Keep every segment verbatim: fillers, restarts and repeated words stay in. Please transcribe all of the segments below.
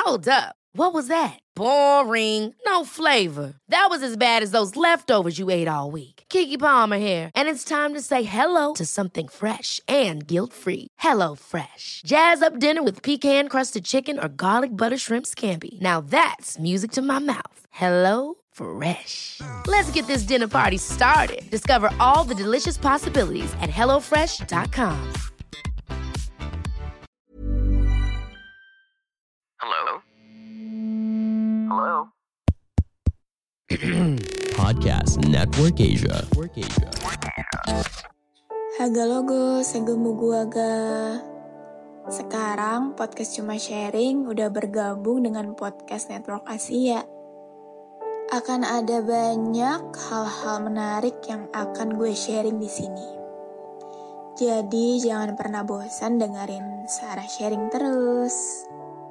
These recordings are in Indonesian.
Hold up. What was that? Boring. No flavor. That was as bad as those leftovers you ate all week. Keke Palmer here, and it's time to say hello to something fresh and guilt-free. Hello Fresh. Jazz up dinner with pecan-crusted chicken or garlic butter shrimp scampi. Now that's music to my mouth. Hello Fresh. Let's get this dinner party started. Discover all the delicious possibilities at hello fresh dot com. Hello? Hello? Podcast Network Asia. Network Asia. Haga logo, segemu guaga. Sekarang podcast Cuma Sharing udah bergabung dengan podcast Network Asia. Akan ada banyak hal-hal menarik yang akan gue sharing di sini. Jadi jangan pernah bosan dengerin Sarah sharing terus.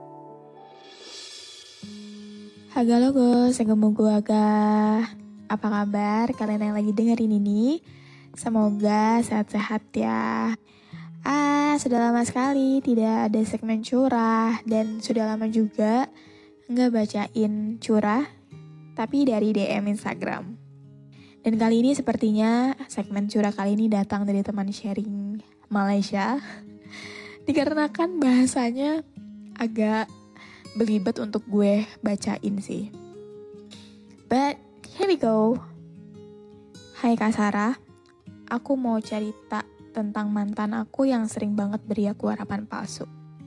Haga logo, segemu guaga. Apa kabar kalian yang lagi dengerin ini? Semoga sehat-sehat ya. Ah, sudah lama sekali tidak ada segmen curah. Dan sudah lama juga nggak bacain curah, tapi dari D M Instagram. Dan kali ini sepertinya segmen curah kali ini datang dari teman sharing Malaysia. Dikarenakan bahasanya agak belibet untuk gue bacain sih. But here we go. Hai Kak Sarah, aku mau cerita tentang mantan aku yang sering banget beri aku harapan palsu.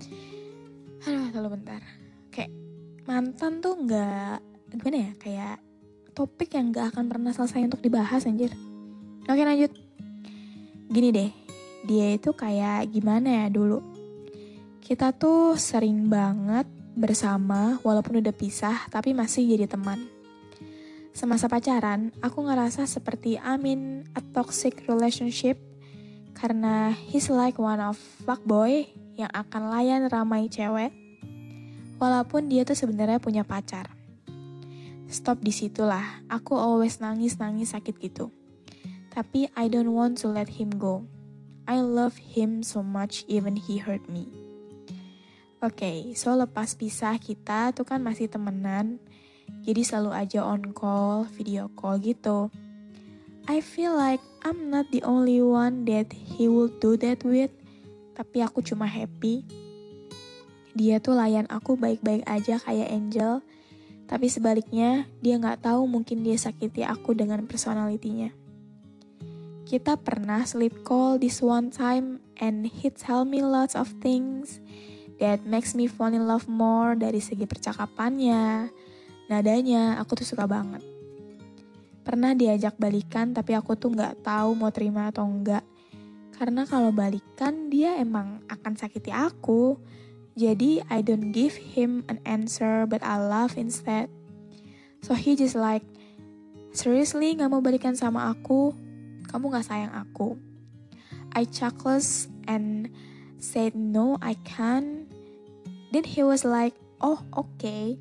Aduh, tunggu bentar. Kayak mantan tuh gak, gimana ya, kayak topik yang gak akan pernah selesai untuk dibahas anjir. Oke lanjut. Gini deh, dia itu kayak gimana ya dulu. Kita tuh sering banget bersama walaupun udah pisah tapi masih jadi teman. Semasa pacaran, aku ngerasa seperti I'm in a toxic relationship karena he's like one of fuckboy yang akan layan ramai cewek walaupun dia tuh sebenarnya punya pacar. Stop di situlah, aku always nangis-nangis sakit gitu. Tapi I don't want to let him go. I love him so much even he hurt me. Oke, okay, so lepas pisah kita tuh kan masih temenan, jadi selalu aja on call, video call gitu. I feel like I'm not the only one that he will do that with, tapi aku cuma happy. Dia tuh layan aku baik-baik aja kayak angel, tapi sebaliknya dia gak tahu mungkin dia sakiti aku dengan personalitinya. Kita pernah sleep call this one time and he tell me lots of things that makes me fall in love more dari segi percakapannya, nadanya, aku tuh suka banget. Pernah diajak balikan tapi aku tuh gak tahu mau terima atau enggak. Karena kalau balikan dia emang akan sakiti aku. Jadi I don't give him an answer but I laugh instead. So he just like, seriously gak mau balikan sama aku? Kamu gak sayang aku? I chuckled and said no I can't. Then he was like, oh oke. Okay.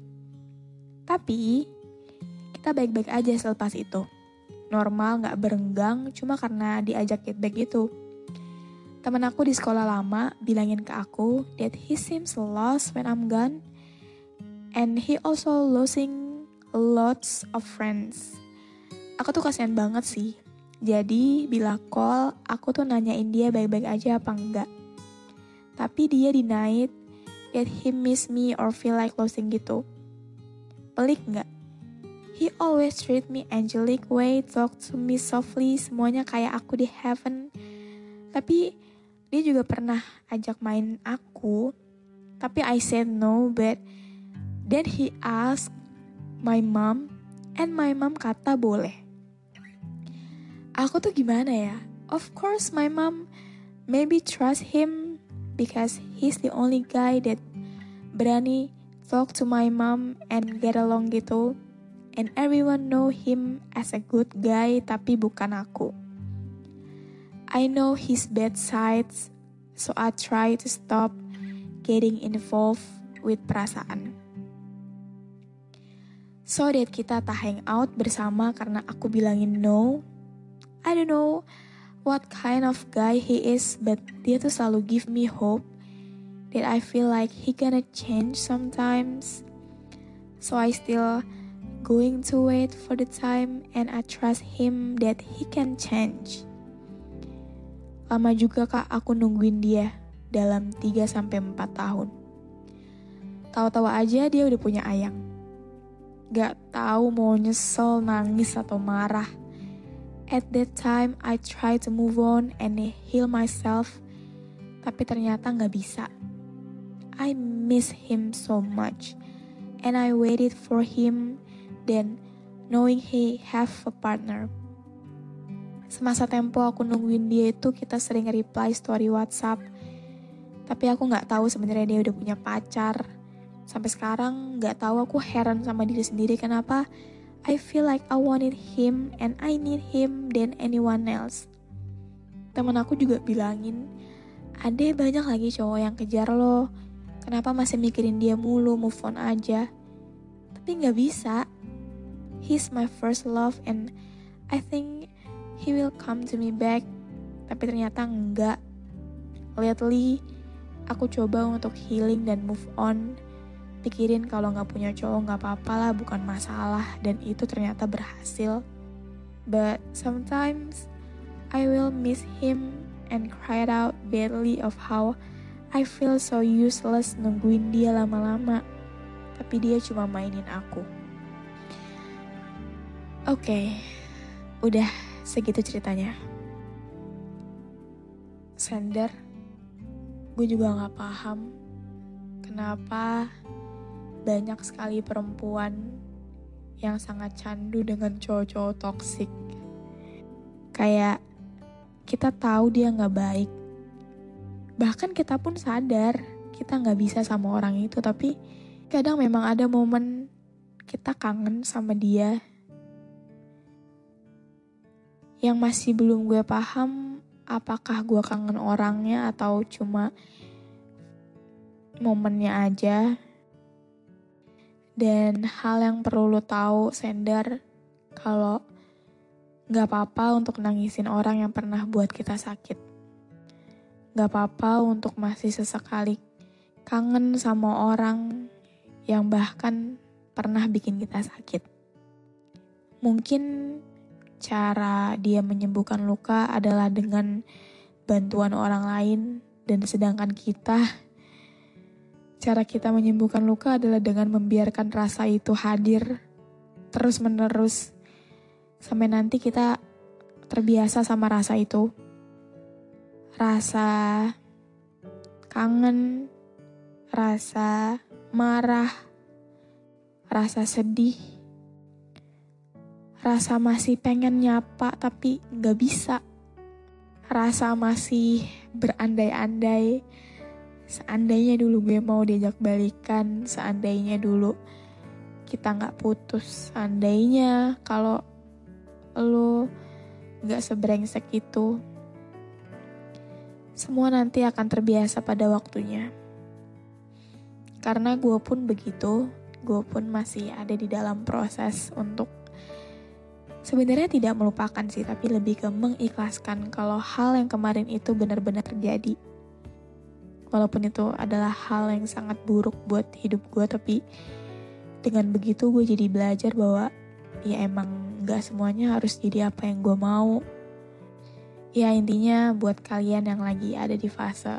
Tapi kita baik-baik aja selepas itu. Normal gak berenggang cuma karena diajak get back gitu. Temen aku di sekolah lama bilangin ke aku that he seems lost when I'm gone. And he also losing lots of friends. Aku tuh kasihan banget sih. Jadi bila call aku tuh nanyain dia baik-baik aja apa enggak. Tapi dia denied that he miss me or feel like losing gitu. Pelik gak? He always treat me angelic way, talk to me softly, semuanya kayak aku di heaven. Tapi dia juga pernah ajak main aku, tapi I said no, but then he asked my mom, and my mom kata boleh. Aku tuh gimana ya? Of course my mom maybe trust him because he's the only guy that berani talk to my mom and get along gitu. And everyone know him as a good guy, tapi bukan aku. I know his bad sides, so I try to stop getting involved with perasaan. So that kita tak hang out bersama karena aku bilangin no. I don't know what kind of guy he is, but dia tuh selalu give me hope that I feel like he gonna change sometimes. So I still going to wait for the time and I trust him that he can change. Lama juga kak aku nungguin dia dalam tiga sampai empat tahun. Tahu-tahu aja dia udah punya ayang. Gak tahu mau nyesel, nangis atau marah. At that time I try to move on and heal myself, tapi ternyata gak bisa. I miss him so much. And I waited for him, then knowing he have a partner. Semasa tempo aku nungguin dia itu kita sering reply story WhatsApp. Tapi aku gak tahu sebenarnya dia udah punya pacar. Sampai sekarang gak tahu aku heran sama diri sendiri kenapa I feel like I wanted him and I need him than anyone else. Temen aku juga bilangin, Ade banyak lagi cowok yang kejar lo. Kenapa masih mikirin dia mulu, move on aja. Tapi gak bisa. He's my first love and I think he will come to me back. Tapi ternyata enggak. Lately, aku coba untuk healing dan move on. Pikirin kalau gak punya cowok gak apa-apa lah, bukan masalah. Dan itu ternyata berhasil. But sometimes, I will miss him and cry out badly of how I feel so useless nungguin dia lama-lama. Tapi dia cuma mainin aku. Oke, okay, udah segitu ceritanya. Sender, gue juga gak paham kenapa banyak sekali perempuan yang sangat candu dengan cowok-cowok toksik. Kayak kita tahu dia gak baik. Bahkan kita pun sadar kita gak bisa sama orang itu. Tapi kadang memang ada momen kita kangen sama dia. Yang masih belum gue paham, apakah gue kangen orangnya atau cuma momennya aja. Dan hal yang perlu lo tahu, Sender, kalau gak apa-apa untuk nangisin orang yang pernah buat kita sakit. Gak apa-apa untuk masih sesekali kangen sama orang yang bahkan pernah bikin kita sakit. Mungkin cara dia menyembuhkan luka adalah dengan bantuan orang lain, dan sedangkan kita, cara kita menyembuhkan luka adalah dengan membiarkan rasa itu hadir terus-menerus sampai nanti kita terbiasa sama rasa itu. Rasa kangen, rasa marah, rasa sedih, rasa masih pengen nyapa tapi gak bisa, rasa masih berandai-andai, seandainya dulu gue mau diajak balikan, seandainya dulu kita gak putus, seandainya kalau lo gak sebrengsek itu. Semua nanti akan terbiasa pada waktunya. Karena gue pun begitu, gue pun masih ada di dalam proses untuk sebenarnya tidak melupakan sih, tapi lebih ke mengikhlaskan kalau hal yang kemarin itu benar-benar terjadi. Walaupun itu adalah hal yang sangat buruk buat hidup gue, tapi dengan begitu gue jadi belajar bahwa ya emang gak semuanya harus jadi apa yang gue mau. Ya intinya buat kalian yang lagi ada di fase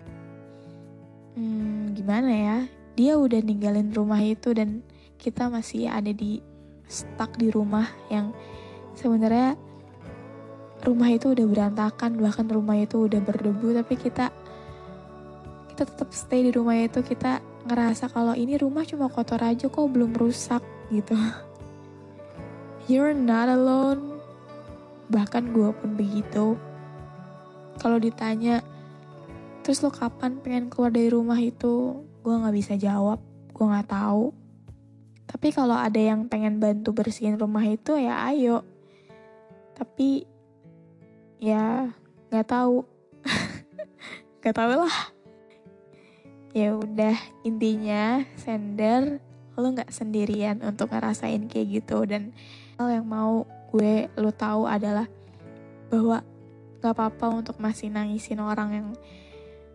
hmm, gimana ya, dia udah ninggalin rumah itu dan kita masih ada di stuck di rumah yang sebenarnya rumah itu udah berantakan, bahkan rumah itu udah berdebu, tapi kita kita tetap stay di rumah itu. Kita ngerasa kalau ini rumah cuma kotor aja kok, belum rusak gitu. You're not alone. Bahkan gue pun begitu. Kalau ditanya, terus lo kapan pengen keluar dari rumah itu? Gue gak bisa jawab, gue gak tahu. Tapi kalau ada yang pengen bantu bersihin rumah itu ya ayo. Tapi ya gak tahu. Gak tahu lah. Ya udah, intinya Sender, lo gak sendirian untuk ngerasain kayak gitu. Dan hal yang mau gue lo tahu adalah bahwa gak apa-apa untuk masih nangisin orang yang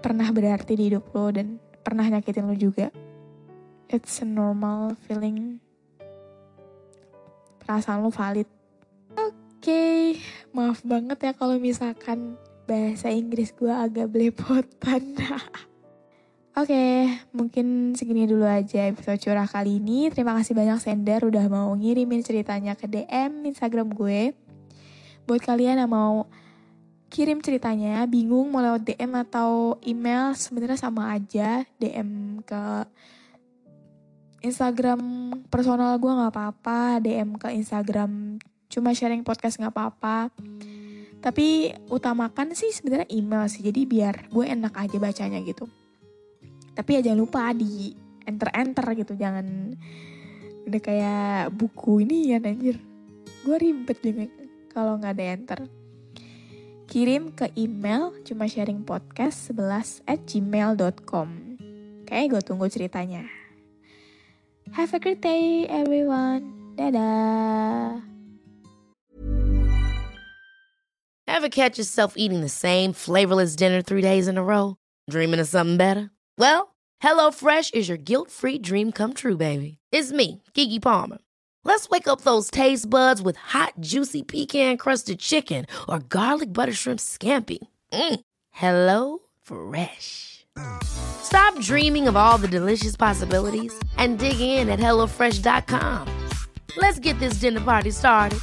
pernah berarti di hidup lo dan pernah nyakitin lo juga. It's a normal feeling. Perasaan lo valid. Oke, okay. Maaf banget ya kalau misalkan bahasa Inggris gue agak belepotan. Oke, okay, mungkin segini dulu aja episode curah kali ini. Terima kasih banyak Sender udah mau ngirimin ceritanya ke D M Instagram gue. Buat kalian yang mau kirim ceritanya, bingung mau lewat D M atau email, sebenarnya sama aja. D M ke Instagram personal gue gak apa-apa, D M ke Instagram cuma sharing podcast gak apa-apa. Tapi utamakan sih sebenarnya email sih, jadi biar gue enak aja bacanya gitu. Tapi ya jangan lupa di enter-enter gitu, jangan udah kayak buku ini ya anjir. Gue ribet deh kalau gak ada enter. Kirim ke email cuma sharing podcast sebelas at gmail dot com. Oke, gue tunggu ceritanya. Have a great day everyone. Dadah. Ever catch yourself eating the same flavorless dinner three days in a row? Dreaming of something better? Well, HelloFresh is your guilt-free dream come true, baby. It's me, Keke Palmer. Let's wake up those taste buds with hot, juicy pecan-crusted chicken or garlic butter shrimp scampi. Mm. Hello Fresh. Stop dreaming of all the delicious possibilities and dig in at hello fresh dot com. Let's get this dinner party started.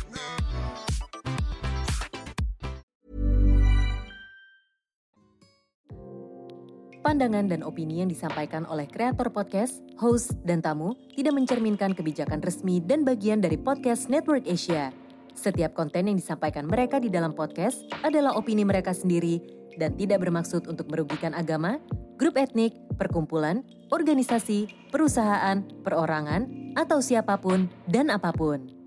Pandangan dan opini yang disampaikan oleh kreator podcast, host, dan tamu tidak mencerminkan kebijakan resmi dan bagian dari Podcast Network Asia. Setiap konten yang disampaikan mereka di dalam podcast adalah opini mereka sendiri dan tidak bermaksud untuk merugikan agama, grup etnik, perkumpulan, organisasi, perusahaan, perorangan, atau siapapun dan apapun.